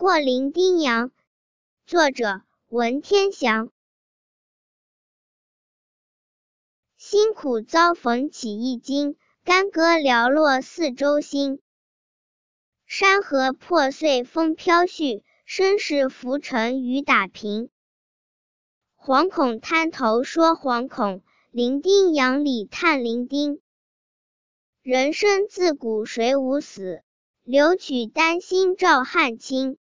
过零丁洋。作者文天祥。辛苦遭逢起一经，干戈寥落四周星。山河破碎风飘絮，身世浮沉雨打平。惶恐滩头说惶恐，零丁洋里叹零丁。人生自古谁无死，留取丹心照汗青。